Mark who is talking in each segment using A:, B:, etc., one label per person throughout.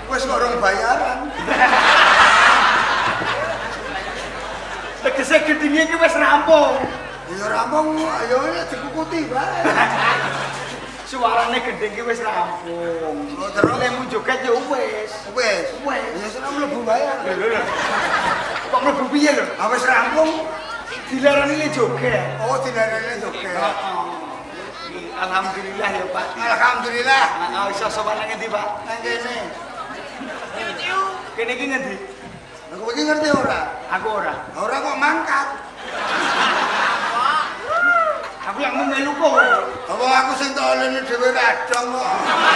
A: Wis kok rong bayaran.
B: Tegese gendinge iki wis rampung.
A: Ya rampung, ayo dikukuti bae.
B: Suarane gending iki wis rampung.
A: Oh, terus
B: lemu joget ya wis.
A: Wis. Ya seneng mlebu bayar.
B: Kok mlebu piye lho?
A: Ah wis rampung.
B: Dilarani le joget.
A: Oh, dilarani joget.
B: Heeh. Alhamdulillah ya, Pak.
A: Alhamdulillah.
B: Heeh, iso sowan nang endi, Pak?
A: Nang kene.
B: Kene iki ngendi?
A: Aku iki ngerti ora?
B: Aku ora.
A: Ora kok mangkat.
B: Aku yang melu kok.
A: Apa aku sing tolene dhewe kadang kok.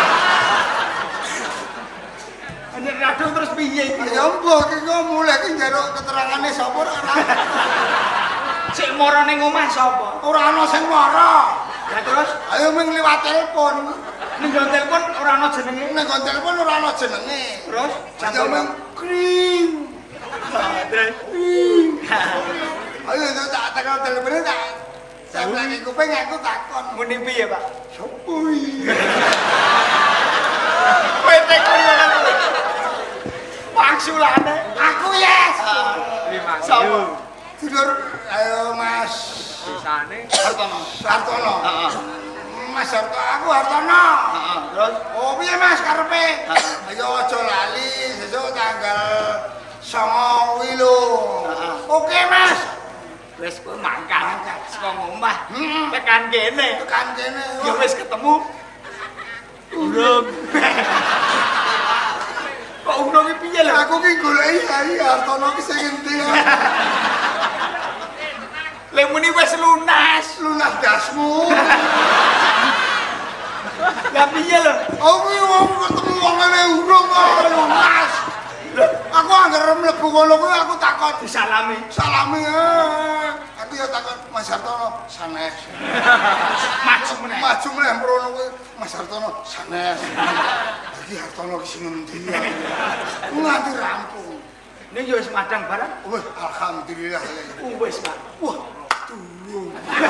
B: Nek radung terus piye iki?
A: Ya mbok iki kok mulai iki njaluk keterangane sapa ora.
B: Sik mara ning omah sapa?
A: Ora ana sing mara.
B: Lah terus
A: Ayo ming liwat telepon.
B: ning telepon ora ana jenenge.
A: Ning telepon ora ana jenenge.
B: Terus
A: Ayo ming kring. Ayo itu tak tekan telepon tak. Saya lagi kuping aku takon.
B: Muni piye, Pak?
A: Sepui.
B: Kowe tekon kan. Maksulane
A: Aku yes.
B: sapa?
A: Tidur ayo Mas
B: Sisane
A: Hartono.
B: Heeh.
A: Mas Hartono, aku Hartono.
B: Heeh. Terus
A: Oh piye Mas karepe? Ayo aja lali sesuk tanggal 9 kuwi lho. Oke Mas.
B: wis kowe mangkat saka omah
A: Heeh.
B: tekan kene.
A: Tekan kene.
B: Ya wis ketemu. Urung. Kok urung iki piye lho?
A: Aku ki goleki Hai Hartono ki sing endi.
B: Lek muni wis lunas.
A: Lunas dasmu.
B: Lah piye lho?
A: Aku ki wong ketemu wong ngene urung kok lunas. Aku anggere mlebu kono kuwi aku takon
B: Disalami.
A: salami. Aku ya takon Mas Hartono sanes.
B: Maju meneh.
A: Maju meneh mrono kuwi Mas Hartono sanes. Iki Hartono ki sing endi ya. Nganti rampung.
B: Ning ya wis madang barang.
A: Wih, alhamdulillah.
B: Wis, Pak.
A: Wah, turun.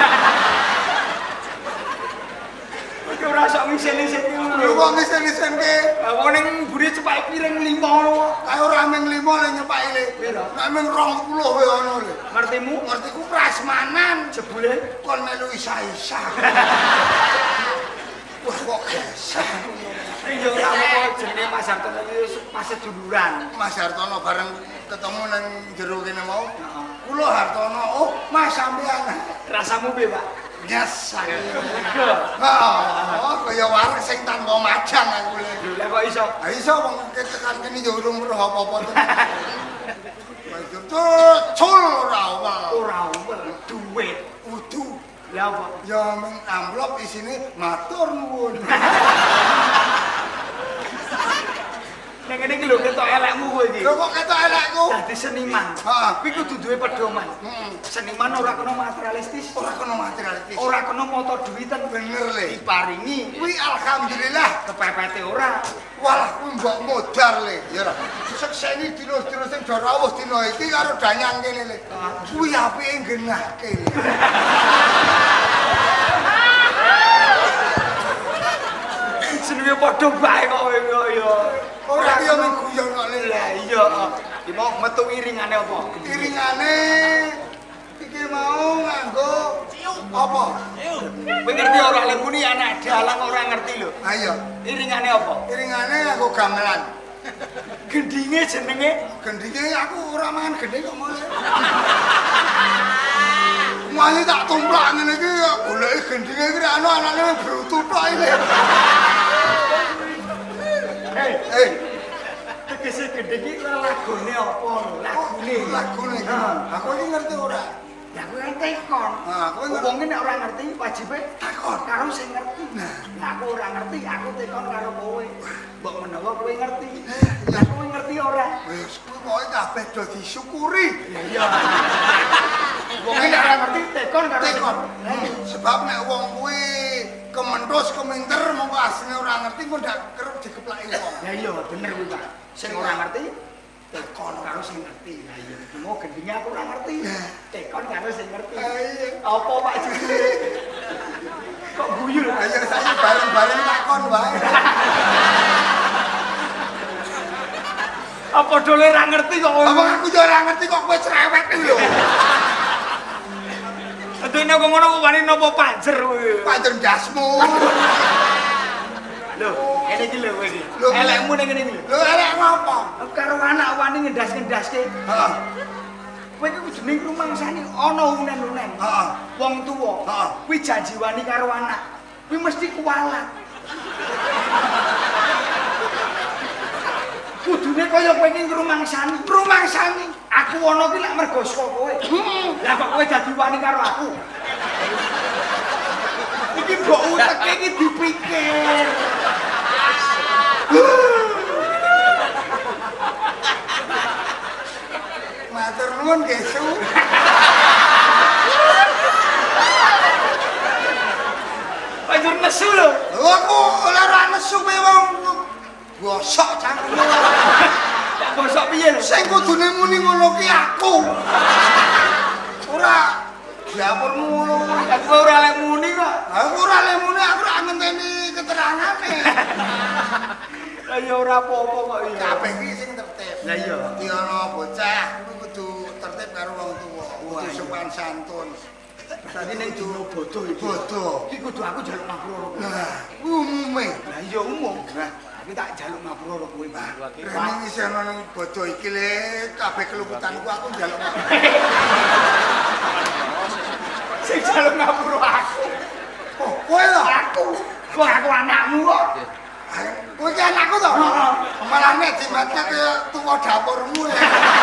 B: Iki ora sok ngisen-ngisen iki
A: Lho
B: lho.
A: kok ngisen-ngisenke?
B: Wong ning mburi cepake piring 5 ngono.
A: Kae ora ming 5 le nyepake le.
B: Piro?
A: Nek ming 20 wae ono le.
B: Ngertimu?
A: Ngertiku prasmanan.
B: Jebule
A: Kon melu isa-isa. Wah kok gesah.
B: iya ora apa jenenge Mas Hartono iki pas seduluran.
A: Mas Hartono bareng ketemu nang jero kene mau. Kula Hartono, oh Mas sampean.
B: Rasamu piye, Pak?
A: Biasa.
B: Lega.
A: Oh, kaya wareg sing tanpa majang aku le.
B: Lah kok iso?
A: Ha iso wong tekan kene yo urung weruh apa-apa to. Itu cul ora awal.
B: Ora umel duit.
A: Udu.
B: Lah apa?
A: Ya ming amplop isine matur nuwun.
B: Nek ngene iki lho ketok elekmu kowe iki.
A: Lho kok ketok elekku?
B: Dadi seniman.
A: Heeh.
B: Kuwi kudu duwe pedoman.
A: Heeh.
B: Seniman ora kena materialistis.
A: Ora kena materialistis.
B: Ora kena moto duwitan.
A: Bener le.
B: Diparingi
A: Kuwi alhamdulillah
B: kepepete ora.
A: walah kuwi mbok modar le. Ya ora. Sekseni dino-dino sing do rawuh dina iki karo danyang kene le. Kuwi apike genahke le.
B: Jenenge padha bae kok kowe ya.
A: Ora ki yo ming guyon kok le.
B: Lah iya. Iki mau metu iringane apa?
A: Iringane iki mau nganggo apa?
B: Kowe ngerti ora lek muni anak dalang ora ngerti lho.
A: Ha iya.
B: Iringane apa?
A: Iringane nganggo gamelan.
B: Gendinge jenenge
A: Gendinge aku ora mangan gending kok mulai. Mulai tak tumplak ngene iki goleki gendinge iki ana anane brutu tok iki. Eh,
B: tegese gending iki lagone apa lho? Lagune.
A: lagune. Aku iki ngerti ora?
B: Ya kowe kan tekon.
A: Nah, kowe ngerti.
B: Wong nek ora ngerti wajibe
A: Takon.
B: karo sing ngerti. Nah, aku ora ngerti, aku tekon karo kowe. Mbok menawa kowe ngerti. Lah kowe ngerti ora?
A: Wis kuwi pokoke kabeh do disyukuri.
B: Iya. Wong nek ora ngerti tekon karo
A: Tekon. Sebab nek wong kuwi kementhus keminter mongko asline ora ngerti kok ndak kerep dikeplaki wong.
B: Ya iya bener kuwi, Pak. Sing ora ngerti tekon karo sing ngerti. Lah iya, mau gendinge aku ora ngerti. Tekon karo sing ngerti.
A: Iya.
B: Apa Pak judule? Kok guyu lho?
A: Ayo saya bareng-bareng takon wae.
B: Apa dole ra ngerti kok kowe?
A: Apa aku yo ora ngerti kok kowe cerewet ku lho.
B: Dene kok ngono kok wani napa panjer kowe?
A: Panjer ndasmu.
B: Lho, ngene iki lho kowe iki.
A: Lho,
B: Elekmu ning ngene iki.
A: Lho elek ngopo?
B: Karo anak wani ngendas-ngendaske.
A: Heeh.
B: Kowe iki kudu ning rumangsane ana unen-unen.
A: Heeh.
B: Wong tuwa.
A: Heeh.
B: Kuwi janji wani karo anak. Kuwi mesti kualat. Kudune kaya kowe iki ngrumangsani. Rumangsani. Aku ana ki lek mergo saka kowe. Lah kok kowe dadi wani karo aku. Iki mbok uteke iki dipikir.
A: Matur nuwun Gesu.
B: Panjur nesu lho.
A: Lho aku ora nesu kowe wong gosok cangkemmu.
B: Tak bosok piye lho?
A: Sing kudune muni ngono ki aku. Ora dapurmu ngono.
B: Aku ora lek muni kok.
A: Aku ora le muni aku ora ngenteni keterangane.
B: Lah ya ora apa-apa kok iki.
A: Kabeh iki sing tertib.
B: Lah iya.
A: Dadi ana bocah kuwi kudu tertib karo wong tuwa. Kudu sopan santun.
B: Tadi ning dino bodoh iki.
A: Bodoh.
B: Iki kudu aku njaluk ngapura.
A: Nah, kuwi umume.
B: Lah iya umum. Nah, aku tak njaluk ngapura kowe.
A: Rene iki ana nang bodoh iki le kabeh keluputanku aku njaluk.
B: Sing njaluk ngapura aku.
A: Oh, kowe lho.
B: Aku. Kok aku anakmu kok.
A: Kowe ki anakku to? Malah nek dimatke kaya tuwa dapurmu le.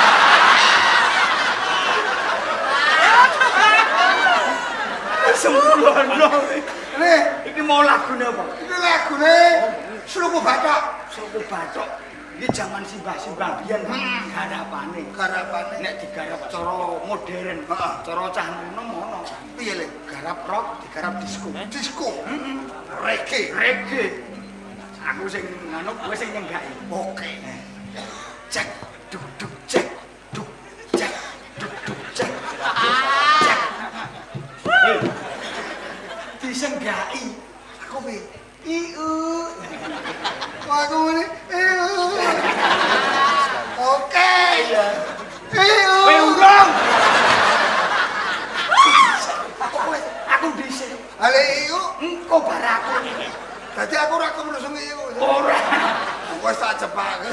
B: Sembrono.
A: Le,
B: Iki mau lagune apa?
A: iki lagune Sluku Bathok.
B: Suku Bathok. Iki jaman simbah-simbah biyen garapane.
A: Garapane
B: Nek digarap cara modern, cara cah nom ngono.
A: piye le?
B: Garap rock, digarap disco.
A: Disco. Reggae.
B: Reggae. Aku sing anu, kowe sing nyenggaki.
A: Oke.
B: Cek, duk duk cek, duk cek, duk duk cek. Cek. Hei. Disenggaki.
A: Aku piye?
B: Iu.
A: Aku ngene. Oke.
B: Iya.
A: Kowe
B: urung. Aku dhisik.
A: Ale iku
B: Engko bar aku.
A: dadi aku ora kemrusung iku.
B: Ora.
A: Wes tak jepake.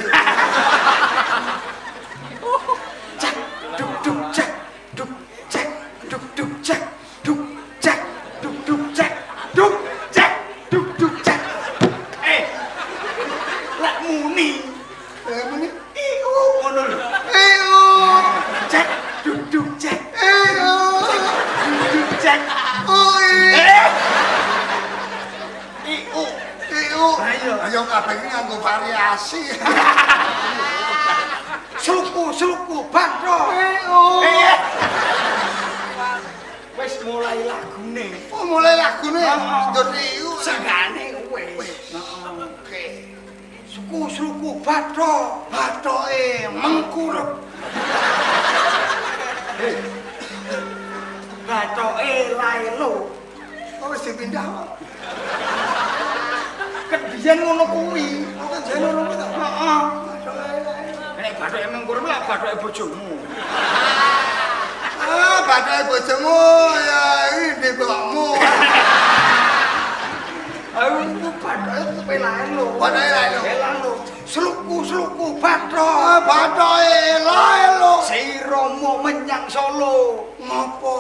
B: Cek, duk duk cek, duk cek, duk duk cek, duk cek, duk duk cek, duk cek, duk duk cek. Lek muni,
A: Muni.
B: iku ngono lho. Cek, duk duk cek, duk duk cek. Iku.
A: Ayo kabeh iki nganggo variasi.
B: Sluku Bathok. Wis mulai lagune.
A: Oh, mulai lagune ndut iku.
B: Sengane wis. Oke. Sluku Bathok.
A: Bathoke mengkurep.
B: Bathoke laelo.
A: Kok wis dipindah kok?
B: Ket biyen ngono kuwi.
A: Kok jane ngono kuwi to?
B: Heeh. Nek bathoke mengkurep lah bathoke bojomu.
A: Ah, bathoke bojomu ya iki ndekmu.
B: Ayo bathoke kuwi laelo.
A: Bathoke laelo.
B: Laelo. Sluku Bathok.
A: Ah, bathoke laelo.
B: Si Romo menyang Solo.
A: Ngopo?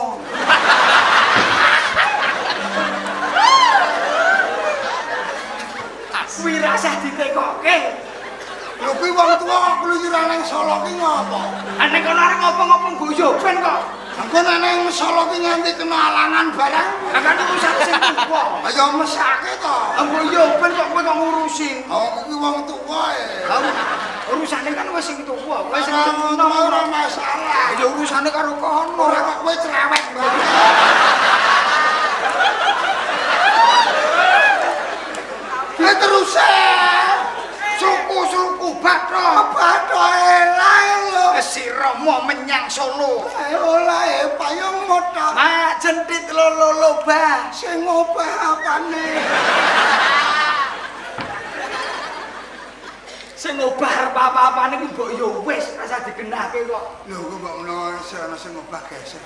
B: Kuwi rasah ditekokke.
A: Lho kuwi wong tuwa kok kluyuran nang Solo ki ngopo?
B: Nek kono arep ngopo-ngopo guyu ben kok.
A: Engko nek nang Solo ki nganti kena alangan barang.
B: Kan urusan sing tuwa.
A: Ayo mesake to.
B: Engko yo ben kok kowe kok ngurusi.
A: Oh, kuwi wong tuwa e.
B: Urusane kan wis sing tuwa, wis sing
A: Wis ora masalah.
B: ya urusane karo kono.
A: Ora kok kowe cerewet banget. Terus
B: Sluku Bathok.
A: Bathoke laelo.
B: Si Romo menyang Solo.
A: Olahe payung motor.
B: Mak jentit lolo bah.
A: Sing ngopah apane?
B: Sing ngobah apa-apane ku mbok yo wis rasa digenahke kok.
A: Lho kok mbok menawa ana sing ngobah gesek.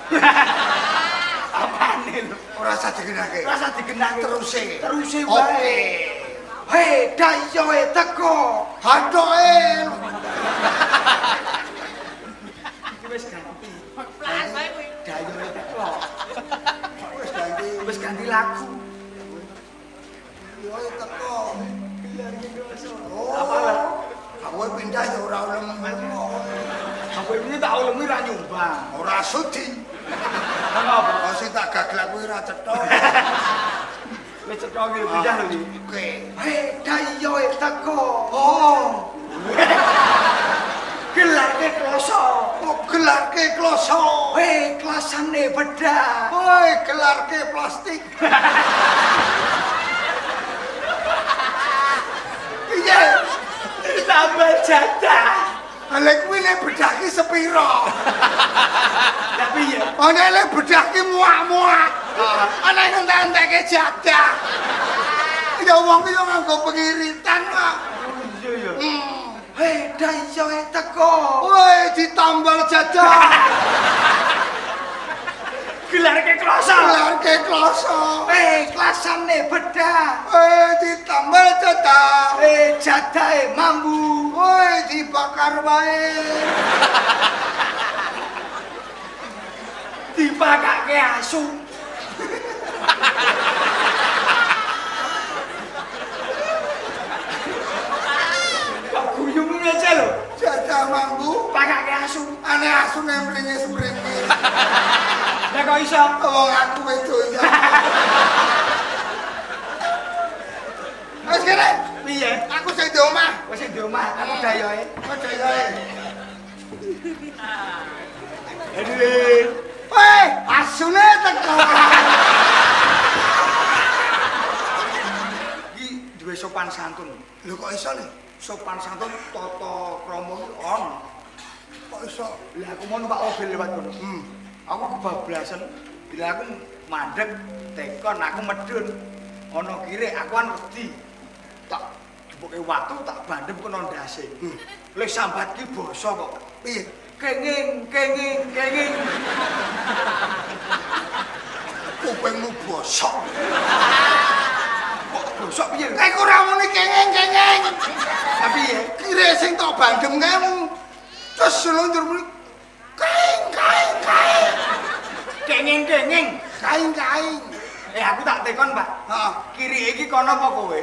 B: Apane lho?
A: Ora usah digenahke.
B: Rasa digenahke teruse wae.
A: Oke.
B: Hei, dayoe teko.
A: Hathoke.
B: Iki wis ganti.
C: Pelan wae kuwi.
B: Dayoe teko.
A: Wis ganti
B: Ganti lagu.
A: yo teko.
B: Apa lah?
A: Aku pindah ya ora oleh
B: Apa ini tak ulemi ra nyumbang.
A: ora sudi.
B: Apa?
A: Oh sing tak gaglak kuwi ora cetha.
B: Wis cetha iki pindah lho iki.
A: Oke.
B: Hei, dayoe teko. Oh. Gelarke kloso.
A: Kok gelarke kloso.
B: Hei, kelasane bedah.
A: Woi, gelarke plastik. Iya.
B: Tambah jatah.
A: Lek kuwi nek bedah ki sepiro?
B: Tapi ya.
A: Ana lek bedah ki muak-muak. Ana entek-enteke jadah. Ya wong ki yo nganggo pengiritan kok.
B: Iya ya. Hei, dayoe teko.
A: Woi, ditambal jadah.
B: Gelarke kloso.
A: Gelarke kloso.
B: Hei, kelasane bedah.
A: Woi, ditambal jadah.
B: Hei, jadahe mambu.
A: Woi, dibakar wae.
B: Dipakake asu. Kok guyung aja lho.
A: Jadah mambu.
B: Pakake asu.
A: Ane asu mringis-mringis.
B: Lah kok iso?
A: Wong aku wedok ya. Wes kene.
B: Piye?
A: Aku sing di omah.
B: Wis di omah, aku dayoe.
A: Oke, gawe.
B: Aduh.
A: Woi, asune teko.
B: Iki duwe sopan santun.
A: Lho kok iso nih?
B: Sopan santun tata krama iki ono.
A: Kok iso?
B: Lah aku mau numpak mobil lewat kono. Aku kebablasan. Bila aku mandek tekon aku medun. Ana kire aku kan wedi. Tak dibuke watu tak bandem kono ndase. Lek sambat ki basa kok.
A: Piye?
B: Kenging.
A: Kupingmu bosok.
B: Kok bosok piye?
A: Kayak ora muni kengeng-kengeng.
B: Tapi ya,
A: Kire sing tok bandem kae terus selunjur muni kaing.
B: kenging.
A: Kaing.
B: Aku tak tekon, Pak.
A: Heeh.
B: Kiri iki kono apa kowe?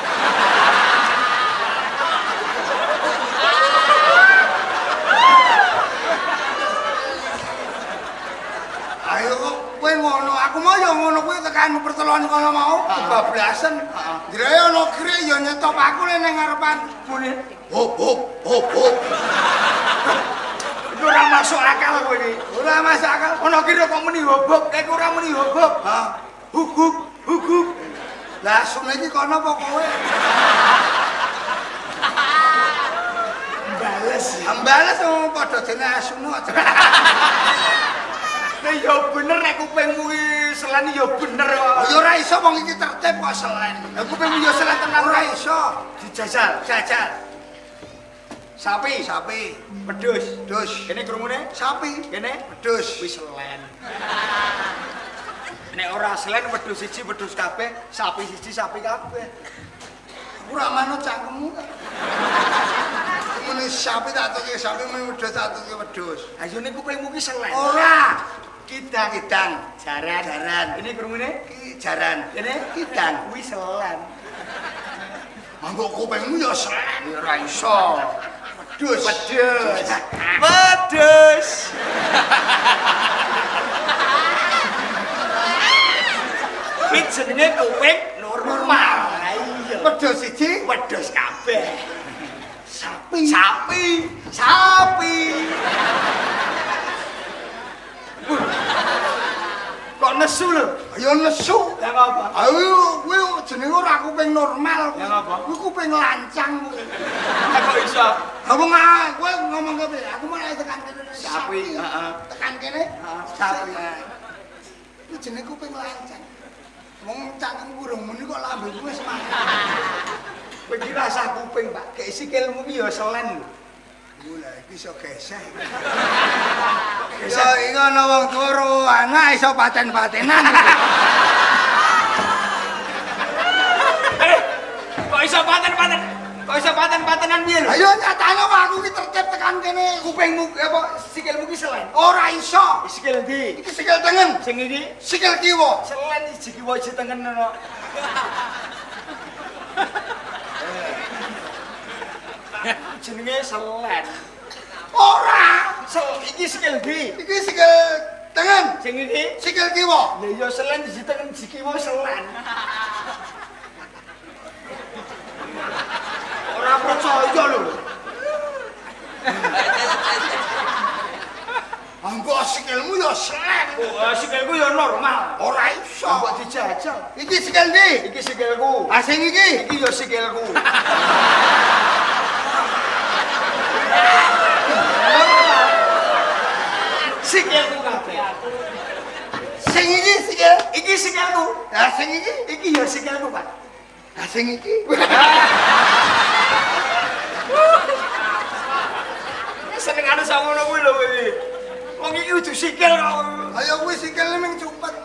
A: Ayo kok kowe ngono, aku mau ya ngono kuwi tekan pertelon kono mau kebablasan. Jare ana kire ya nyetop aku ning ngarepan.
B: Mune.
A: Hop.
B: Iku ora masuk akal kowe iki.
A: Ora masuk akal.
B: Ana kira kok muni hobok, nek ora muni hobok.
A: Hah?
B: Huguk.
A: Lah asune iki kono apa kowe?
B: Bales.
A: Ambales wong padha dene asune aja.
B: Nek ya bener nek kupingmu iki selen ya bener kok.
A: Ya ora iso wong iki tertib kok selen.
B: Lah kupingmu ya selen tenan
A: Ora
B: ora
A: iso.
B: dijajal. Sapi. Wedhus.
A: Dus.
B: Kene krungune?
A: Sapi.
B: Kene
A: Dus.
B: wis selen. Nek ora selen wedhus siji wedhus kabeh, sapi siji sapi kabeh.
A: Ora manut cangkemmu. Muni sapi tak tuke sapi muni wedhus tak tuke wedhus.
B: Ayo nek kupingmu ki selen.
A: Ora.
B: Kidang. Jaran. Ini krungune?
A: Ki jaran.
B: Kene
A: Kidang.
B: kuwi selen.
A: Mangko kupingmu ya selen.
B: Ya ora iso.
A: Wedhus.
B: Iki jenenge kuping normal. Iya.
A: Wedhus siji,
B: Wedhus kabeh.
A: sapi.
B: Kok nesu lho?
A: Ya nesu.
B: Lah ngapa?
A: Ayo kuwi jenenge ora kuping normal.
B: Ya ngapa?
A: Kuwi kuping lancang kuwi.
B: Lah kok iso?
A: Apa kowe ngomong ke piye? Aku malah tekan kene.
B: Sapi, heeh.
A: Tekan kene.
B: Sapi.
A: Kuwi jenenge kuping lancang. Wong cangkem burung muni kok lambemu wis mati.
B: Kowe iki rasah kuping, Pak. Kayak sikilmu ki ya selen lho.
A: Mula iki iso geseh. Ya iki ana wong turu, anak iso paten-patenan.
B: Kok iso paten-paten? Kok iso paten-patenan piye lho?
A: Ayo nyatane aku ki tertib tekan kene.
B: Kupingmu apa sikilmu ki selen.
A: Ora iso.
B: Sikil ndi?
A: Iki sikil tengen,
B: Sing iki
A: sikil kiwa.
B: selen siji kiwa siji tengen ngono. Jenenge selen.
A: Ora.
B: Iki sikil ndi?
A: Iki sikil tengen,
B: Sing iki
A: sikil kiwa.
B: ya ya selen siji tengen siji kiwa selen. Ora percaya lho.
A: Anggo sikilmu ya selen.
B: Oh, sikilku ya normal.
A: Ora iso.
B: Kok dijajal?
A: Iki sikil ndi?
B: Iki sikilku.
A: Ah sing iki?
B: Iki ya sikilku. Sikilku kabeh.
A: Sing iki sikil.
B: Iki sikilku.
A: Ah sing iki?
B: Iki ya sikilku, Pak.
A: Ah sing iki?
B: Senengane samono kuwi lho kowe. Wong iki kudu sikil kok.
A: Ayo kuwi sikile ming cupet.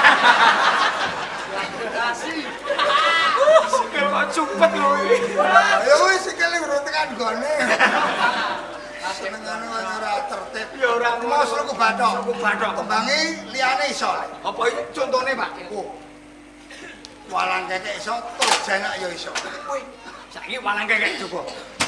B: Sikil kok cupet lho iki.
A: Ayo kuwi sikile urut tekan gone. Senengane wong ora tertib.
B: Ya ora
A: Mos lu bathok.
B: Ku bathok.
A: Kembange liyane iso.
B: Apa iki contone, Pak?
A: Oh. Walang kekek iso, tur jenak ya iso.
B: Kowe saiki walang kekek coba.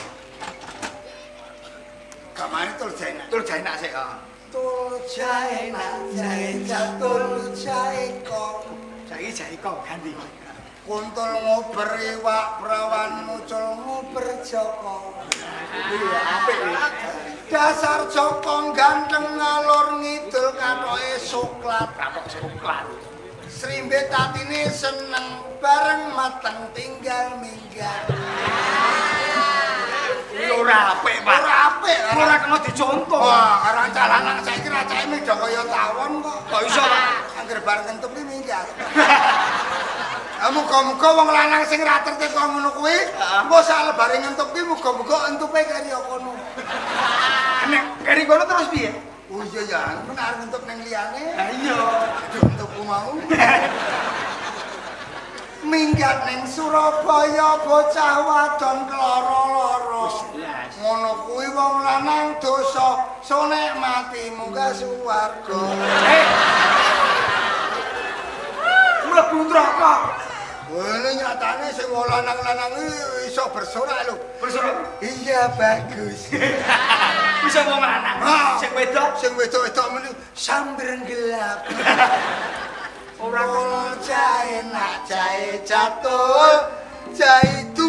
A: Kamane tur jenak.
B: Tur jaenak sik.
A: Tur jenak, jae catur jae kok.
B: Saiki jae kok ganti.
A: Kuntul ngober iwak prawan mucul ngober Joko.
B: Iya, apik iki.
A: Dasar Joko ganteng ngalor ngidul katoke soklat.
B: Kapok soklat.
A: Srimbe tatine seneng bareng mateng tinggal minggat.
B: Ora apik, Pak.
A: Ora apik,
B: Ora kena dicontoh.
A: Wah, karo calanan saiki racake ming do kaya tawon kok.
B: Kok iso, Pak?
A: Angger bar kentup ki minggat. Muga-muga wong lanang sing ra tertib kok ngono kuwi, engko sak lebare ngentup ki muga-muga entupe kaya kono.
B: Nek kari kono terus piye?
A: Oh iya ya, ben arep ngentup ning liyane.
B: Lah iya.
A: Aduh, entupku mau. Minggat ning Surabaya bocah wadon kloro-loro.
B: Jelas.
A: Ngono kuwi wong lanang dosa, sonek mati munggah swarga.
B: Mlebu neraka.
A: Wene nyatane sing wong lanang-lanang iso bersorak lho.
B: Bersorak.
A: Iya bagus.
B: Bisa wong lanang. Sing wedok
A: Sing wedok-wedok meni sambreng gelap.
B: ora
A: Ora jae nak jae catur, jae tu.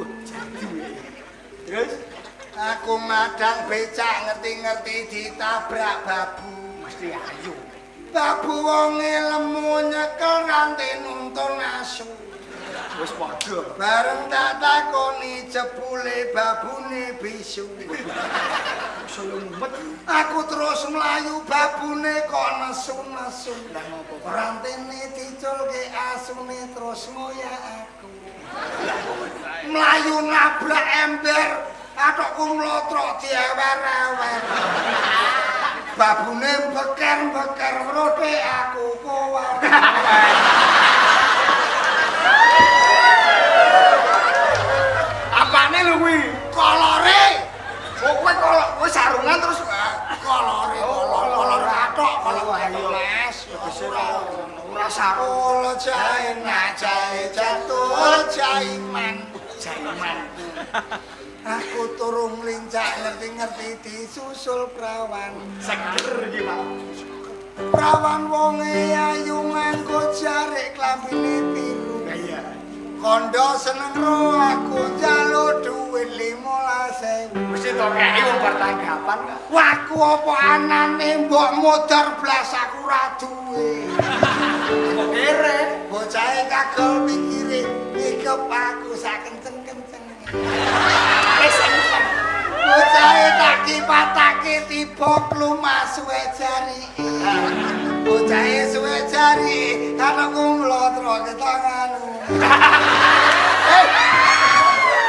B: terus
A: Aku madang becak ngerti-ngerti ditabrak babu.
B: mesti ayu.
A: Babu wonge lemu nyekel nganti nuntun asu.
B: Wis padha.
A: Bareng tak takoni jebule babune bisu.
B: Sulumet.
A: Aku terus mlayu babune kok nesu-nesu.
B: Lah ngopo?
A: Rantene diculke asune terus ngoyak aku. Mlayu nabrak ember, atokku mlotrok diewer-ewer. Babune beker-beker rote aku kowar.
B: Apane lho kuwi?
A: Kolore.
B: Oh kowe kolok kowe sarungan terus
A: Kolore, kolor atok, kolor
B: ayo.
A: Mas.
B: ora sarung.
A: Kolo jae nak jae jatuh jaiman.
B: Jaiman.
A: Aku turung lincak ngerti-ngerti disusul prawan.
B: Seger iki, Pak.
A: Prawan wonge ayu nganggo jarik klambine biru.
B: Iya.
A: Kondo seneng ro aku njaluk dhuwit 15.000.
B: Mesti to kei wong bar tanggapan kok.
A: Waku apa anane mbok modar blas aku ra duwe.
B: Kok kere?
A: Bocahe kagol pikire nyikep aku sak kenceng-kencenge.
B: Wis kenceng.
A: Bocahe tak kipatake tiba klumas suwe jarike. Bocahe suwe jarike anakku mlotro ketanganmu.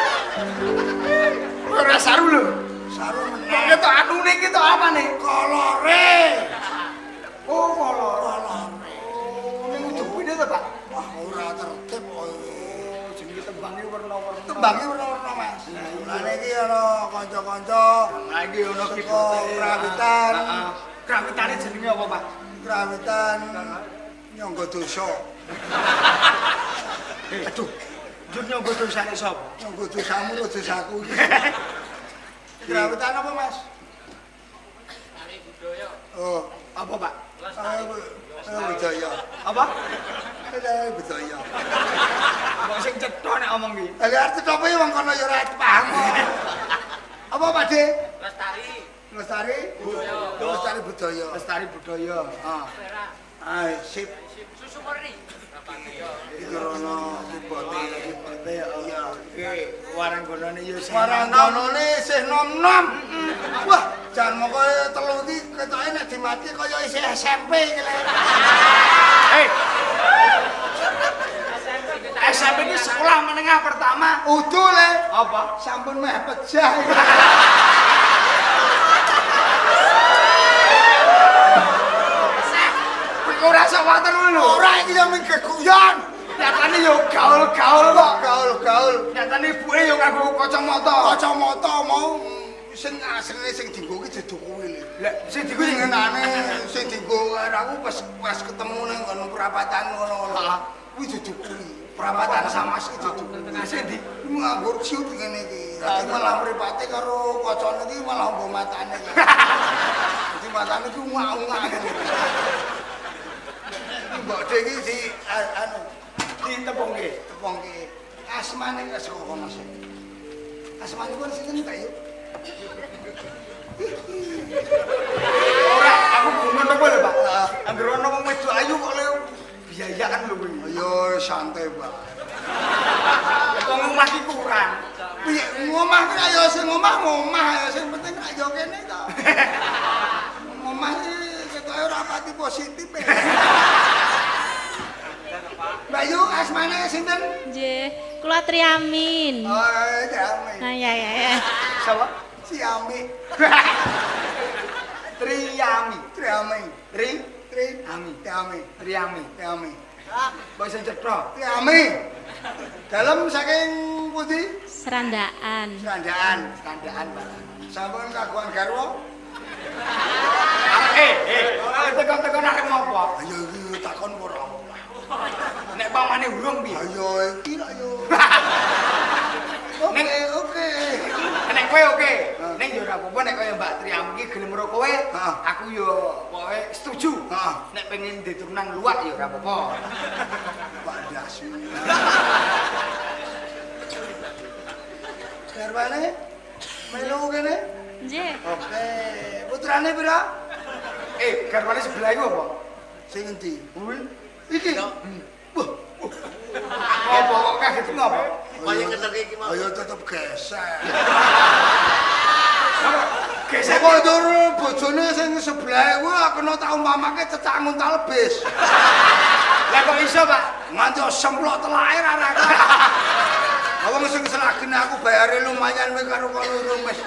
B: ora saru lho.
A: Saru
B: Kok
A: meneh.
B: ketok anune iki tok apane?
A: Kolore.
B: Oh, kolor.
A: Kolore.
B: Oh, ning ujung kuwi to, Pak.
A: Wah, ora tertib kok.
B: Jenenge tembange warna-warna.
A: Tembange werna-werna, Mas. Lah iki ana kanca-kanca.
B: Lah iki ono
A: Saka
B: kibote.
A: Krawitan.
B: Heeh. Krawitane jenenge apa, Pak?
A: Krawitan nyangga dosa.
B: Aduh. Njur nyangga dosane sapa?
A: Nyangga dosamu lho dosaku iki. Krawitan apa, Mas? Oh,
B: Apa, Pak?
A: budaya.
B: Apa?
A: Budaya.
B: Kok sing cetha nek omong iki.
A: Lah arti apa ya wong kono ya ora paham. Apa, Pak De? Lestari budaya. Lestari budaya.
B: Lestari budaya. Heeh.
A: Ah, sip.
C: Susu murni.
A: Iki rono kibote.
B: Kibote ya.
A: Iya.
B: Iki waranggonane ya
A: Waranggonane isih nom-nom. Wah, jan moko telu iki ketoke nek dimati kaya isih SMP iki lho.
B: SMP ini sekolah menengah pertama.
A: Udu le.
B: Apa?
A: Sampun meh pejah.
B: Ora sawaten lho.
A: Ora iki yo ming geguyon.
B: Nyatane yo gaul-gaul kok.
A: Gaul-gaul.
B: Nyatane ibuke yo nganggo kacamata.
A: Kacamata mau sing asline sing dienggo ki dudu kuwi lho.
B: Lah sing
A: Iku sing ngenane sing dienggo aku pas ketemu ning ngono perapatan ngono-ngono. Kuwi dudu kuwi. Perapatan Samas iki dudu.
B: Sing di
A: Nganggur siut ngene iki. Dadi malah mripate karo kacane iki malah nggo matane. Dadi matane ku ngak-ngak ngene. Mbok Dek iki di anu
B: ditepungke.
A: tepongke. Asmane wis kok kono sih. Asmane pun sinten ta yuk?
B: Ora, aku gumun apa lho, Pak? Anggere ono wong wedok ayu kok le biayaan lho kuwi.
A: Ayo santai, Pak.
B: Wong omah iki kurang.
A: Piye ngomah ki ayo sing ngomah ayo sing penting ayo kene to. Ngomah iki ketoke ora pati positif. Bayu asmane sinten?
D: Nggih, kula Triamin.
A: Oh, Jami.
D: Ah ya.
B: Sapa?
A: Siami.
B: Triami.
A: Triami.
B: Tri
A: Triami. Triami.
B: Triami.
A: Triami.
B: Mbok sing cetha.
A: Triami. Dalam saking pundi?
D: Serandaan.
A: Sandaan.
B: Kandaan, Pak.
A: Sampun kagungan garwa?
B: Tekan-tekan arep ngopo?
A: Ayo iki takon ora.
B: Nek pamane urung piye?
A: Ayo iki lho yo.
B: Nek
A: Oke.
B: nek kowe oke. Ning yo ora apa-apa nek kowe Mbak Triam iki gelem karo kowe, aku yo pokoke setuju.
A: Heeh.
B: Nek pengen diturunan luwak yo ora apa-apa.
A: Pak Dasu. Garwane melu kene?
D: Nggih.
A: Oke. Putrane pira?
B: Garwane sebelah iku apa?
A: Sing endi?
B: Kuwi.
A: Iki. Wah,
B: Apa kok kaget ngopo?
A: kaya ngeterke iki mau. Ayo tetep gesek.
B: Gesek
A: Kok ndur bojone sing sebelah kuwi kena tak umpamake cecak nguntal bis.
B: Lah kok iso, Pak?
A: Nganti semplok telake ra. Wong sing selagene aku bayare lumayan kowe karo kono rumes.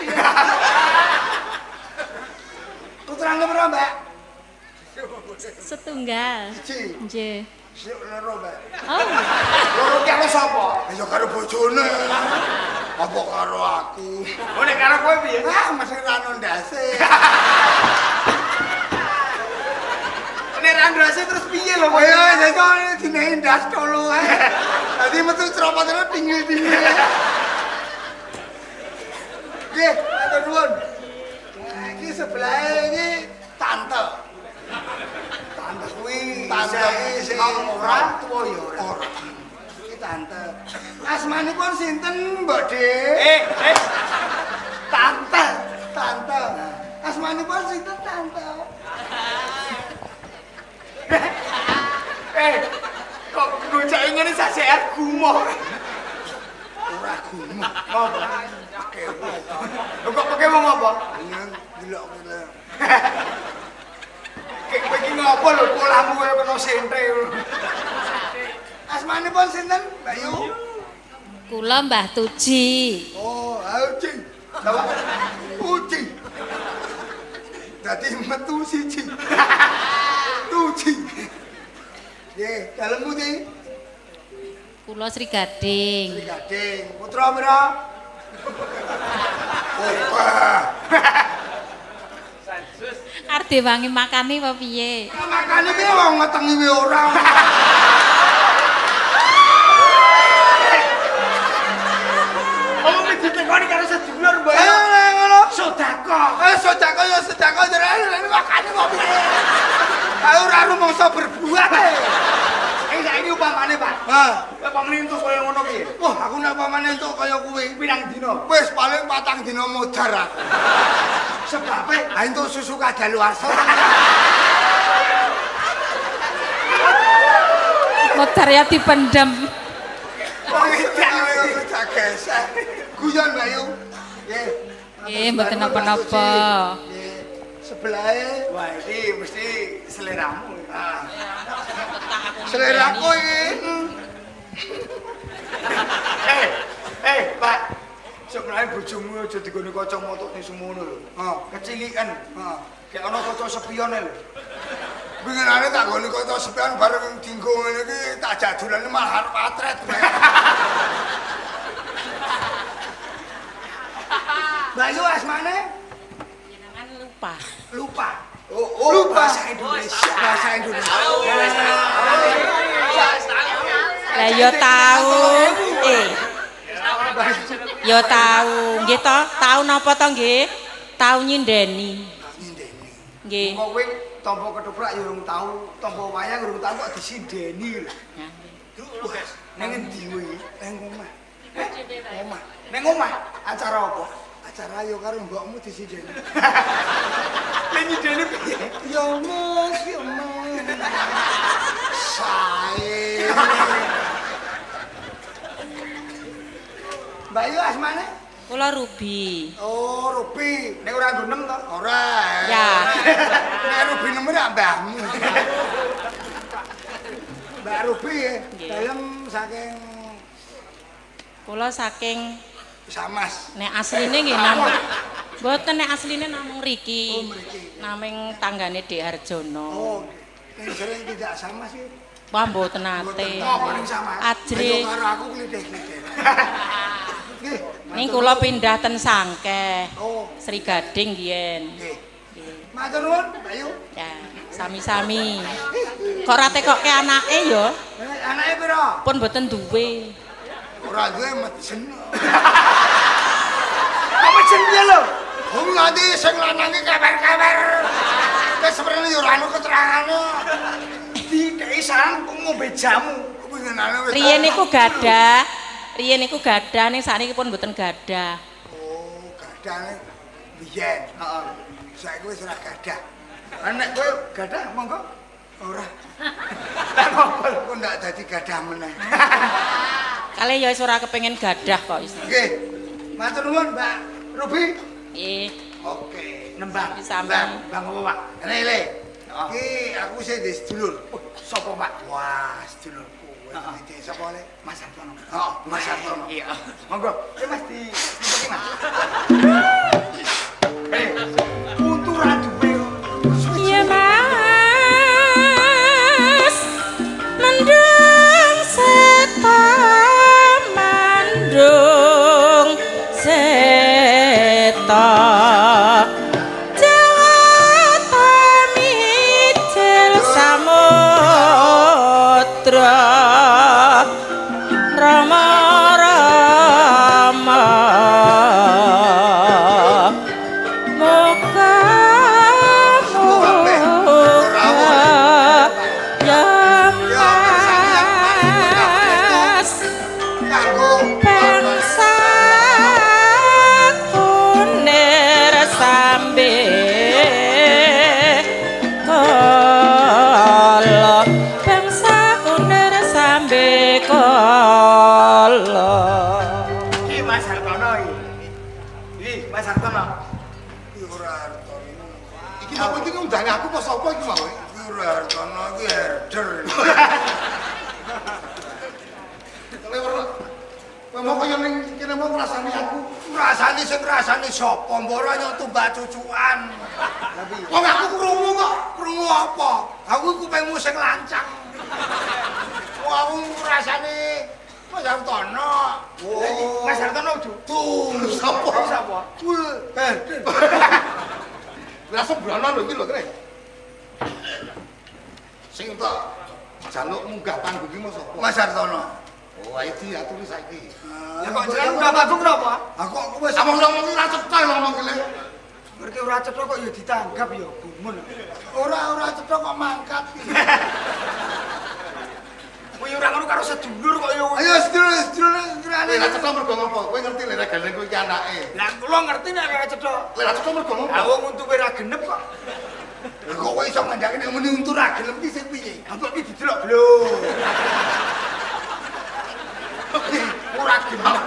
A: Putrane pira, Mbak?
D: Setunggal.
A: Siji.
D: Nggih.
A: Sik loro, Mbak.
D: Oh,
B: Loro ki karo sapa?
A: Ya karo bojone. Apa karo aku?
B: Oh nek karo kowe piye?
A: Ah, mesti rano ndase.
B: Nek randrase terus piye lho kowe?
A: Ayo, jadi dine ndas tolu ae. Dadi metu cropotane tinggi-tinggi. Nggih, matur nuwun. Iki sebelah iki tante.
B: Tante kuwi.
A: Tante iki sing
B: ora tuwa ya ora.
A: Ora. Iki tante. Asmanipun sinten, Mbak De?
B: Tante.
A: Tante. Asmanipun sinten, Tante?
B: Kok gojake ngene sasehat gumoh.
A: Ora gumu.
B: Ngopo?
A: Kewo.
B: Lho kok pakai wong apa?
A: Nang delok kene.
B: Kowe iki ngopo lho polahmu kaya kena sente.
A: Asmanipun sinten, Mbak Yu?
D: kula Mbah Tuji.
A: Oh, ayo, Cing.
B: Apa?
A: Uci. Dadi metu siji. Tuji. Nggih, dalemmu ndi?
D: Kula Sri Gading.
A: Sri Gading. Putra pira?
D: Arep diwangi makani apa piye?
A: Makane piye wong ngetengi wae ora.
B: Oh, ditekoni karo sedulur, Mbak.
A: Ngono.
B: Sedekah.
A: Sedekah ya sedekah jenenge makane kok piye? Ayo ora rumangsa berbuat.
B: Saiki upamane, Pak.
A: Hah.
B: Kowe pengrintus kaya ngono piye?
A: Wah, aku nek pamane entuk kaya kuwi.
B: Pirang dina?
A: Wis paling 4 dina modar aku.
B: Sebabe
A: Ha entuk susu kadaluarsa.
D: Modar ya dipendem.
A: Wong edan ayo gesek. Guyon Bayu. Nggih.
D: Nggih, mboten napa-napa.
A: Nggih. Sebelahe
B: wah iki mesti seleramu.
A: seleraku iki.
B: Pak. Sebenarnya bojomu aja digone kacamata ning semono lho. Kecilikan. Kayak ana kaca spione lho.
A: Pinginane tak goni kaca spion bareng dinggo ngene iki tak jadulane malah arep atret. Bayu asmane?
D: Jenengan lupa.
A: Lupa.
B: Oh,
A: lupa.
B: Bahasa Indonesia.
A: Bahasa Indonesia.
D: Lah ya tahu. Ya tahu. Nggih to, tahu napa to nggih? Tahu nyindeni.
A: Nyindeni.
D: Nggih.
B: Kok kowe tampa ketoprak ya urung tau, tampa wayang urung tau kok disindeni lho. Ning endi kuwi?
A: Nang omah.
B: Omah. Ning omah acara apa?
A: Acara yo karo mbokmu disindeni.
B: Lah nyindeni piye?
A: Yo Mas, yo Mas. Sae. Bayu asmane?
D: Kula Ruby.
A: Oh, Ruby.
B: Nek ora nggo nem to?
A: Ora.
D: Ya.
A: Nek Ruby nemen rak mbahmu. Mbak Ruby ya, dalem saking
D: Kula saking
A: Samas.
D: nek asline nggih namung mboten nek asline namung mriki.
A: Oh, mriki.
D: Naming tanggane Dek Harjono.
A: Oh, yang sering tidak sama sih.
D: Wah mboten nate.
B: Oh, paling sama.
D: Ajre.
A: Ayo karo aku klithik-klithik. Nggih.
D: Ning kula pindah ten Sangkeh.
A: Oh,
D: Sri Gading nggih.
A: nggih.
D: Nggih.
A: Matur nuwun, Bayu.
D: Ya, sami-sami. Kok ora tekokke anake ya?
A: Anake pira?
D: Pun mboten duwe.
A: Ora duwe mejen.
B: Kok mejen piye lho?
A: Wong nanti sing lanange kewer-kewer. Wis seprene yo ora ono keterangane.
B: Dikei saran kok ngombe jamu.
A: Pinginane wis.
D: Riyen niku gadah. Riyen niku gadah ning sakniki pun mboten gadah.
A: Oh, gadane biyen.
B: Heeh.
A: Saiki wis ora gadah.
B: Nek kowe gadah monggo.
A: Ora.
B: Tak ngopo.
A: Kok ndak dadi gadah meneh.
D: Kale ya wis ora kepengin gadah kok wis.
A: Nggih. Matur nuwun, Mbak Ruby.
D: Nggih.
A: Oke.
B: Nembang.
D: Sami.
B: Bang apa, Pak?
A: Rele. Iki aku sing di sedulur.
B: Sapa, Pak?
A: Wah, sedulurku.
B: Heeh.
A: Iki sapa le?
B: Mas Hartono.
A: Oh, Mas Hartono.
B: Iya. Monggo. Mas di Mas. Unturan duwe.
D: Iya Mas. Mendung seta mandung seta.
A: Aku pas apa iki mau? Iki ora Hartono iki herder. Kowe mau kaya ning kene mau ngrasani aku. Ngrasani sing ngrasani sapa? Mboro nyok tumbak cucukan. Wong aku krungu kok. Krungu apa? Aku kupingmu sing lancang. Wong aku ngrasani Mas Hartono.
B: Oh, Mas Hartono uju.
A: Tuh, sapa?
B: Sapa?
A: Lah sebrono lho iki lho kene. Sing tak jaluk munggah panggung iki sapa? Mas Hartono. Oh, ayo diaturi saiki.
B: Ya kok jenengan munggah panggung napa?
A: Aku wis ngomong ora cetha ngomong kene.
B: Ngerti ora cetha kok ya ditanggap ya gumun.
A: Ora cetha kok mangkat.
B: Kowe ora ngono karo sedulur kok ya.
A: Ayo sedulur kirane. Ora cetha mergo ngopo? Kowe ngerti lek gandeng kowe iki anake.
B: Lah kula ngerti nek ora cetha.
A: Ora cetha mergo ngopo?
B: Lah wong untu ora genep kok.
A: Kok kowe iso ngandake nek muni untu ra gelem iki sing piye?
B: Apa iki didelok lho.
A: Ora gelem.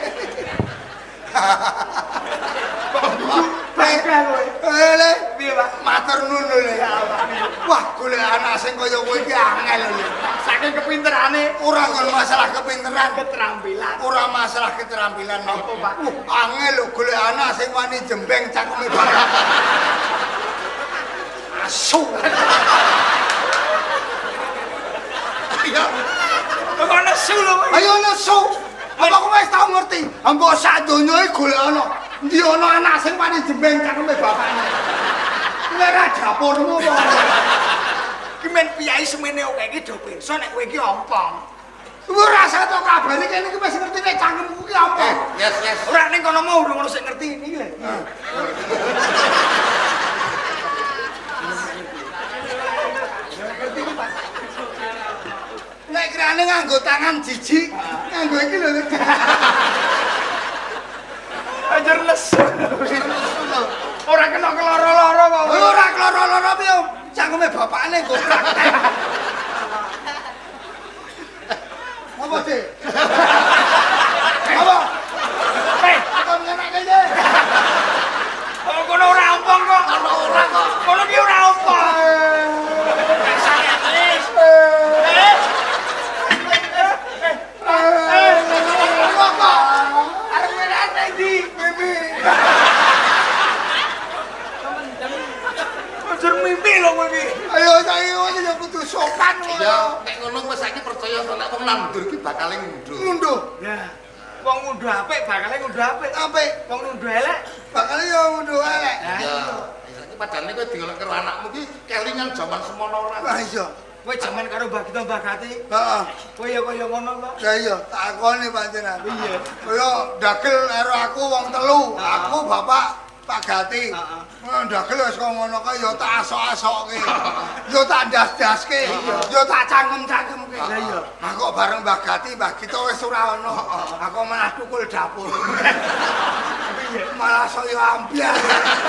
B: Bangga kowe.
A: Le,
B: Piye, Pak?
A: matur nuwun lho. Wah, golek anak sing kaya kowe iki angel lho.
B: Saking kepinterane
A: Ora kon masalah kepinteran,
B: keterampilan.
A: ora masalah keterampilan.
B: Apa, Pak?
A: Angel lho golek anak sing wani jembeng cakeme banget. Asu. Iya.
B: Kok nesu lho.
A: Ayo nesu. Apa kowe wis tau ngerti? Mbok sak donya iki golek ana. Ndi ana anak sing wani jembeng cakeme bapakne. Nek ra dapurmu apa?
B: Ki men piyai semene oke iki do pirsa nek kowe iki ompong.
A: Ora satu kabare kene iki wis ngerti nek cangkemku ki apa.
C: Yes.
B: Ora ning kono mau urung ono sing ngerti iki lho.
A: Nek kirane nganggo tangan jijik, nganggo iki lho.
B: Ajar lesu. Ora kena keloro-loro kok.
A: Ora kloro-loro piye? Cangkeme bapakne nggo praktek. Apa sih? Apa? Apa ngenek kene?
B: Kok kono ora ompong kok.
A: Ora kok.
B: Kono ki ora ompong.
A: Arep ngenek ndi? Mimi.
B: Ajar mimpi lho kowe iki.
A: Ayo saiki kowe ya kudu sopan ngono.
C: Ya, nek ngono wis saiki percaya nek wong nandur iki bakal ngunduh.
A: Ngunduh.
B: Ya. Wong ngunduh apik bakale ngunduh apik.
A: Apik.
B: Wong ngunduh elek.
A: Bakal yo ngunduh elek.
C: Ya. Saiki padane kowe digolek karo anakmu iki kelingan jaman semono ora.
A: Lah iya.
B: Kowe jaman karo Mbak Gita Mbak Gati.
A: Heeh.
B: Kowe ya kaya ngono kok.
A: Lah iya, takoni panjenengan.
B: Iya.
A: Kaya dagel karo aku wong telu. Aku bapak Pak Gati.
B: Heeh.
A: Dagel wis kok ngono kae ya tak asok-asokke. Ya tak das-daske. Ya tak cangkem-cangkemke.
B: Lah iya.
A: Aku bareng Mbak Gati, Mbak Gita wis ora ono. Aku malah tukul dapur. Malah saya ambyar.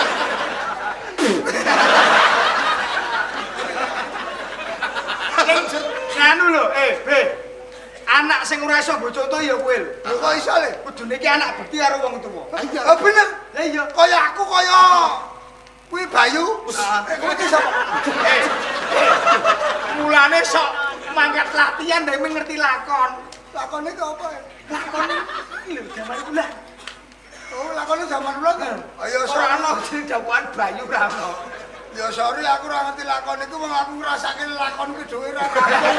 B: Nganu lho, anak sing ora iso mbok contoh ya kowe lho.
A: Lho kok iso le?
B: Kudune iki anak bekti karo wong tuwa.
A: Ah bener.
B: Lah iya.
A: Kaya aku kaya kuwi Bayu. Kowe iki sapa?
B: Mulane sok mangkat latihan dhewe ngerti lakon.
A: Lakone ki apa?
B: Lakon iki lho jaman kula.
A: Oh, lakone zaman dulu kan. Ayo
B: Ora ono sing dawan Bayu ra ono.
A: Ya sorry aku ora ngerti lakon iku wong aku ngrasake lakon ki dhewe ra.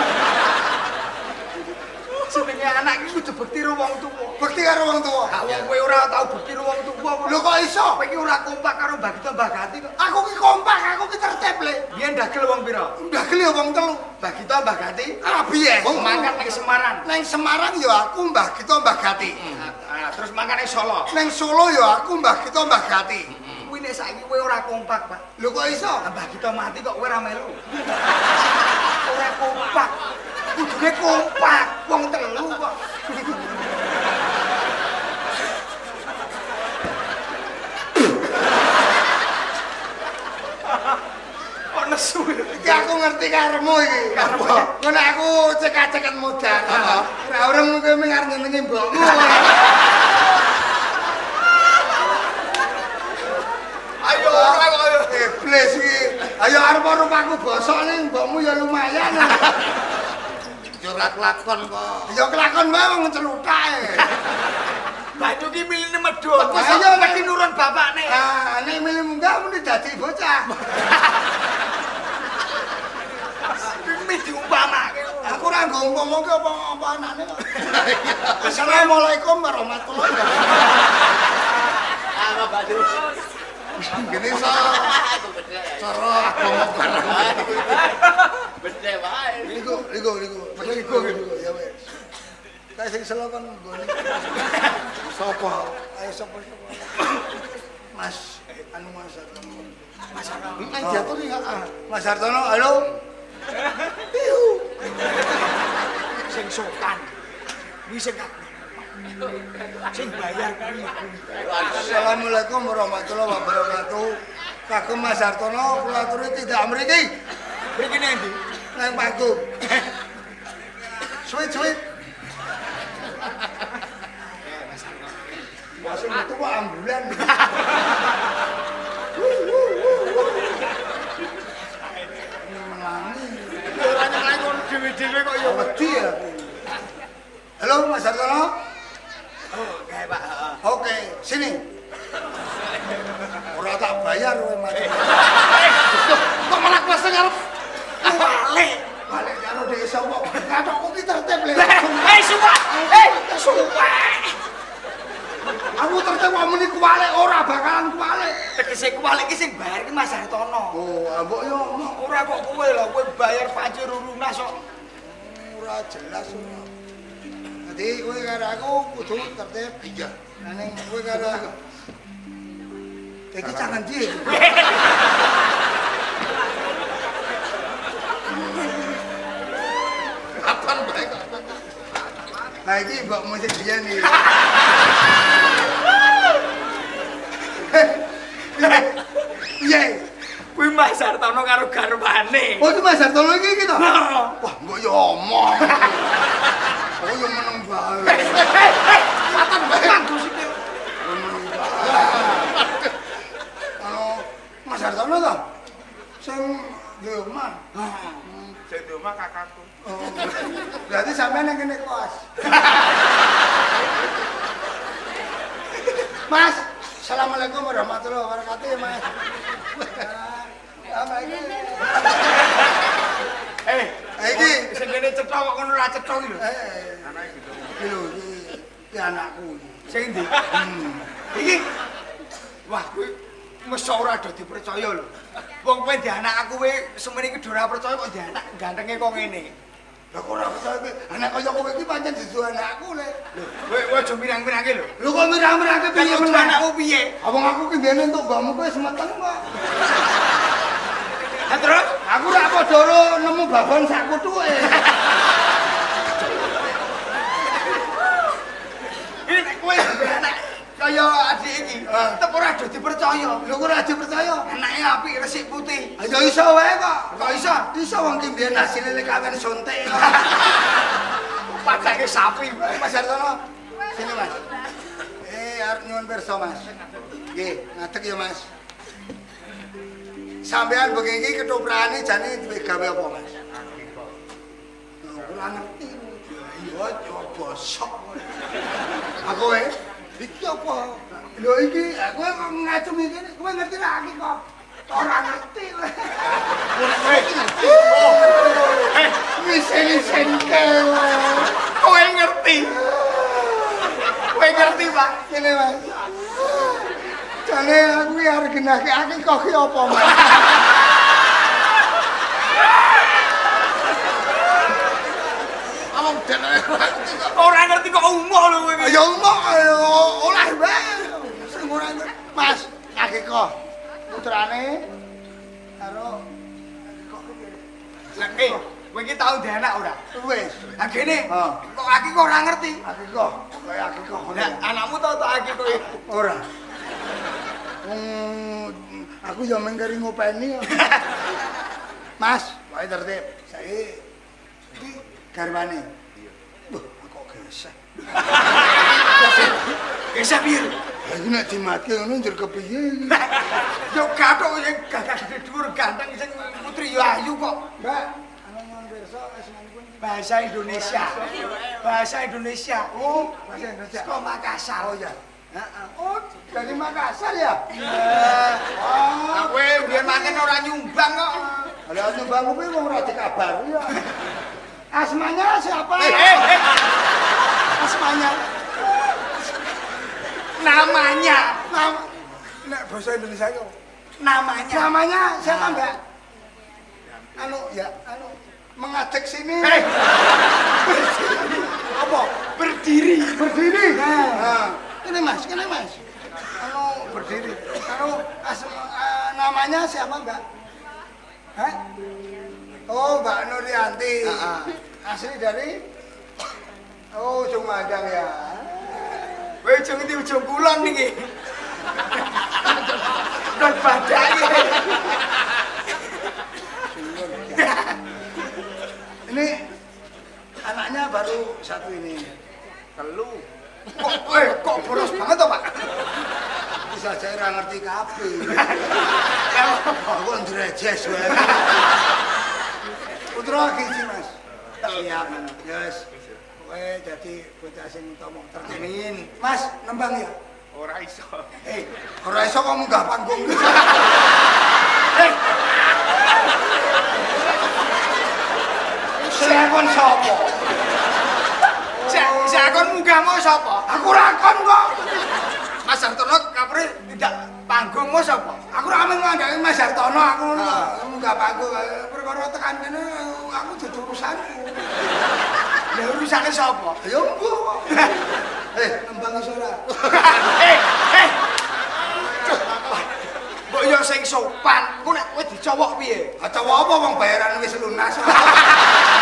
B: Jenenge anak iki kudu bekti karo wong tuwa.
A: Bekti karo wong tuwa.
B: Ah wong kowe ora tau bekti karo wong tuwa kok.
A: Lho kok iso?
B: Kowe iki ora kompak karo Mbak Gita Mbak Gati kok.
A: Aku ki kompak, aku ki tertib le.
B: Biyen dagel wong pira?
A: Ndagel ya wong telu.
B: Mbak Gita Mbak Gati.
A: Rabiye.
B: Wong mangkat ning Semarang.
A: Neng Semarang ya aku Mbah Gita Mbah Gati.
B: Terus mangkat ning Solo.
A: Neng Solo ya aku Mbah Gita Mbah Gati.
B: Kuwi nek saiki kowe ora kompak, Pak.
A: Lho kok iso?
B: Mbah Gita mati kok kowe ora melu. Ora kompak. Kudune kompak, wong telu kok. Kok nesu.
A: Iki aku ngerti karemu iki. Ngono aku cekak-cekan modal. Ora urung kowe mung arep nyenengi mbokmu.
B: Ayo ora kok ayo.
A: Iblis iki. Ayo arep rupaku bosok ning mbokmu ya lumayan.
C: Yo Ya ora kelakon kok.
A: Ya kelakon wae wong celutake.
B: Banyu ki miline medhun.
A: Ayo
B: mesti nurun bapakne.
A: Ah, nek milih munggah muni dadi bocah.
B: Wis diumpamake.
A: Aku ora ngomong ki apa anane kok. Assalamualaikum warahmatullahi wabarakatuh.
B: Ah, Mbak Dur.
C: Gini cara agama barang.
B: Bedhe wae.
A: Ligo. Ya wis. Kae sing selo kan nggone. Sopo? Ayo sopo? Mas, anu Mas Hartono. Mas Hartono. Jatuh nih, Mas Hartono, halo.
B: Sing sopan. Kuwi sing bayar kuwi.
A: Assalamualaikum warahmatullahi wabarakatuh. Kagem Mas Hartono, kula aturi tidak mriki.
B: Mriki endi?
A: Nang panggung. Suwit. Masuk itu kok ambulan. Melangi.
B: Ora nyelai kon dhewe-dhewe kok ya
A: Wedi ya. Halo Mas Hartono.
B: Oh, kae Pak.
A: Oke, sini. Ora tak bayar kowe mati.
C: Kok malah kelas ngarep
A: Balik karo desa kok. Kathokku ki tertib le.
B: Suwek.
A: Aku tertib kok muni kuwalik ora bakalan kuwalik.
B: Tegese kuwalik ki sing bayar ki Mas Hartono.
A: Oh, mbok yo
B: Ora kok kowe lho, kowe bayar pajak lunas kok.
A: ora jelas ora. Dadi kowe karo aku kudu tertib.
C: iya
A: Lah ning kowe karo aku. Iki jangan dia.
C: kapan bae kok
A: Nah iki mbok mesti dia nih. Iya.
B: Kuwi Mas Hartono karo garwane.
A: Oh iki Mas Hartono iki to? Wah, mbok yo omong. Oh yo meneng bae.
B: Matan banget sikil.
A: Mas Hartono to? Sing di omah.
B: Sing di omah kakakku.
A: Oh. Berarti sampean yang kene kos. Mas, assalamualaikum warahmatullahi wabarakatuh ya Mas. Iki
B: Sing kene cetha kok ngono ora cetha iki lho.
A: anake gitu. Iki lho iki anakku iki.
B: Sing ndi? Iki. Wah, kuwi mesti ora do dipercaya lho. Wong kowe di anak aku kowe semene iki ora percaya kok di anak gantenge kok ngene.
A: Lah kok ora percaya kowe anak kaya kowe iki pancen dudu anakku le.
B: Kowe aja mirang-mirangke lho.
A: Lho kok mirang-mirangke piye
B: Piye
A: meneh?
B: anakmu piye?
A: Abang aku ki biyen entuk mbakmu kowe semeteng kok.
B: Ha terus?
A: Aku ora padha nemu babon sak kuthuke.
B: Ini nek kowe duwe anak kaya adik iki, tetep ora do dipercaya.
A: Lho kok ora dipercaya?
B: Anake apik resik putih.
A: Ayo iso wae kok.
B: Kok iso?
A: Iso wong ki biyen hasilé lek kawin suntik.
B: Padake sapi.
A: Mas Hartono. Sini Mas. Arep nyuwun pirsa Mas. Nggih, ngadeg ya Mas. Sampean bengi iki ketoprane jane duwe gawe apa Mas? Ora ngerti. Iya, coba sok. Aku wae. Iki apa? Lho iki kowe kok ngacung iki kowe ngerti ra iki kok. Ora ngerti kowe. Wis-wisen kowe.
B: Kowe ngerti. Kowe ngerti, Pak?
A: Ngene Mas. Jane aku iki arep genake akikah ki apa Mas?
C: Among dene
B: Ora ngerti kok umuk lho kowe iki.
A: Ya umuk oleh wae. Sing ora ngerti. Mas, akikah putrane karo
B: Lah kowe iki tau duwe anak ora?
A: wis.
B: Lah kene
A: Heeh.
B: kok aki kok ora ngerti.
A: Akikah kaya akikah ngono.
B: Lah anakmu tau tak aki kowe.
A: Ora. Aku ya mengkari ngopeni. Mas, wae tertib. Saiki iki garwane. Iya. Wah, kok gesek.
B: Gesek piye?
A: Lah iki nek dimatke ngono njur kepiye iki?
B: Yo gathok sing gagah gede dhuwur ganteng sing putri yo ayu kok.
A: Mbak, ana nyuwun pirsa asmanipun
B: Bahasa Indonesia. Bahasa Indonesia.
A: Oh, bahasa Indonesia.
B: Kok Makassar.
A: Oh ya.
B: Heeh.
A: Oh, dari Makassar ya?
B: Oh, kowe biyen makan ora nyumbang kok.
A: Lah nyumbang kuwi wong ora dikabari ya. Asmanya siapa?
B: Asmanya. Namanya.
A: Nek bahasa Indonesia itu
B: Namanya.
A: namanya siapa, Mbak? Mengadek sini. Apa?
B: Berdiri.
A: Berdiri.
B: Nah.
A: Kene Mas. Berdiri. Namanya siapa, Mbak? Hah? Oh, Mbak Nurianti. Asli dari Ujung Madang ya.
B: Kowe ujung iki ujung kulon niki. Dan badai.
A: Ini anaknya baru satu ini.
B: Telu.
A: Kok boros banget toh, Pak? Bisa saya ora ngerti kabeh. Aku ndrejes wae. Putra iki, Mas. Siap, Yes. Kowe dadi bocah sing utama tertenin. Mas, nembang ya?
B: Ora iso.
A: Ora iso kok munggah panggung. Siapon sapa?
B: Sakon munggahmu sapa?
A: Aku rakon kok.
B: Mas Hartono kapre tidak panggungmu sapa?
A: Aku ra men ngandani Mas Hartono, aku munggah panggung. Perkara tekan kene aku dudu urusanku.
B: Ya urusane sapa?
A: Ya mbuh kok. Nembang iso ora?
B: Mbok yo sing sopan, ku nek kowe dicowok piye?
A: Cowok apa wong bayaran wis lunas.